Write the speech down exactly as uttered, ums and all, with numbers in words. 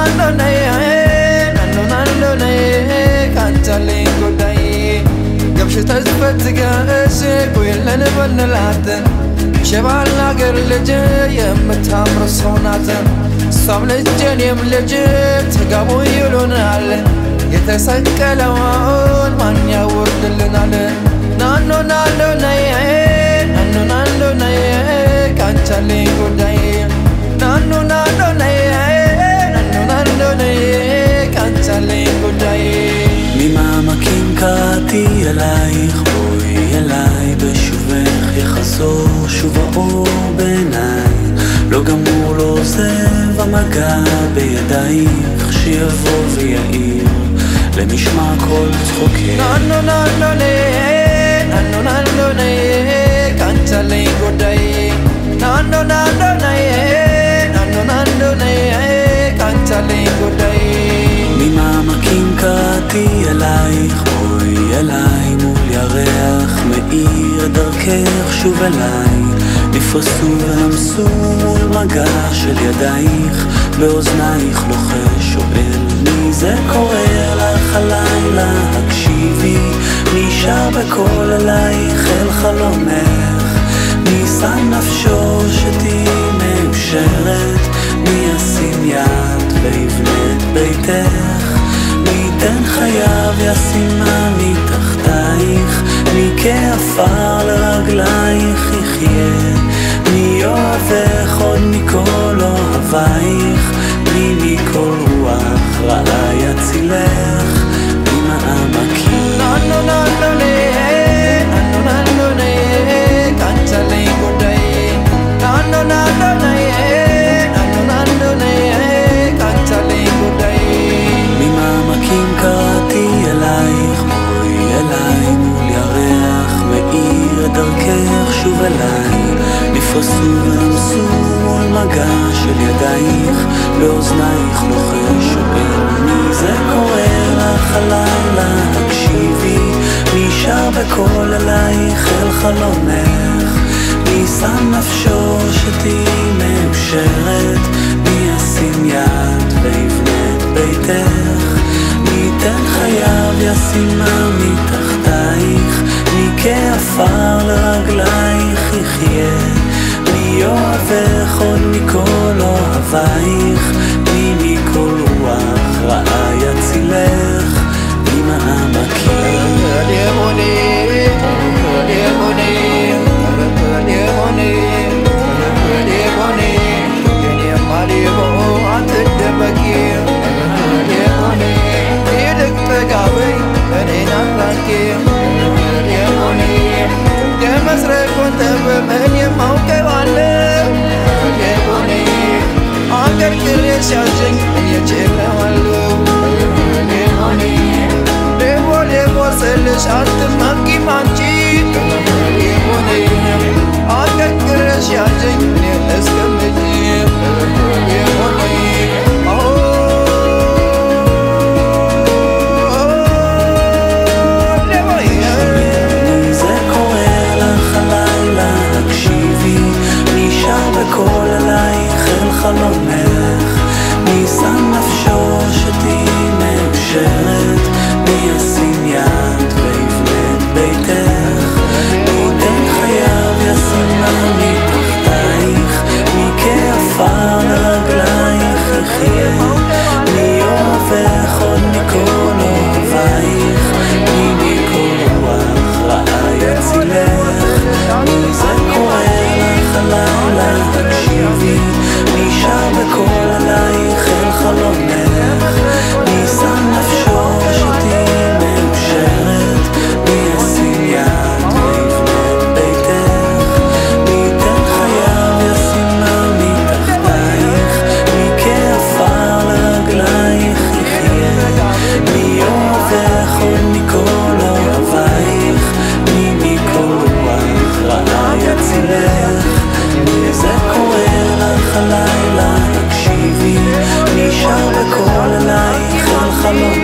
nando nay nando nando nay kanchali godai gabsh tazfatgash kulen banlat شبال ناقر لجي يمتامر صونات صام لجين يملجي تقابو يلونال يتسكلون من يورد لنال نانو نانو ناي نانو نانو ناي كانتالي قداي نانو نانو ناي نانو نانو ناي كانتالي قداي ממעמקים קראתי אלייך בואי אליי בשובך יחזור שוב האור בעיניי לא גמור לא עוזב המגע בידייך שיבוא ויעיר למשמע כל צחוקך ננו ננו ננו ננו ננו קנצלי גודאי ננו ננו ננו ננו קנצלי גודאי ממעמקים קראתי אלייך בואי אליי מול ירח מאיר דרכך שוב אליי נפרסו ולמסו מול מגע של ידייך באוזנייך לוחש שואל מי זה קורא לך הלילה הקשיבי מי שר בקול אלייך אל חלומך מי שם נפשו שתהי מאושרת מי ישים יד ויבנה את ביתך מי ייתן חייו ישימה מתחתייך מי כעפר לרגלייך יחיה מי אוהבך עוד מכל אוהבייך מי מכל רוח רעה יצילך ממעמקים ננו ננו ננו ננו ננו קנצלי גודאי ננו ננו ננו ננו ננו קנצלי גודאי ממעמקים קראתי אלייך בואי אליי מול ירח מאיר דרכך שוב אליי נפרסו ולמסו מול מגע של ידייך באוזנייך לוחש שואל מי זה קורא לך הלילה הקשיבי מי שר בקול אלייך אל חלומך מי שם נפשו שתהי מאושרת מי ישים יד ויבנה את ביתך מי ייתן חייו ישימה מתחתייך מי כעפר לרגלייך יחיה מי אוהבך עוד מכל אוהבייך מי מכל רוח רעה יצילך ממעמקים מי שם נפשו שתהי מאושרת מי ישים יד ויבנה את ביתך מי ייתן חייו ישימה מתחתייך מי כעפר לרגלייך יחיה מי אוהבך עוד מכל אוהבייך מי מכל רוח רעה יצילך מי זה קורא לך הלילה תקשיבי מי שר בקול עלייך אל חלומך מי שם נפשו שתהי מאושרת מי ישים יד ויבנה את ביתך מי ייתן חייו ישימה מתחתייך מי כעפר לרגלייך יחיה מי אוהבך עוד מכל אוהבייך מי מכל רוח רעה יצילך מי זה קורא לך הלילה תקשיבי מי שר בקול אלייך אל חלומך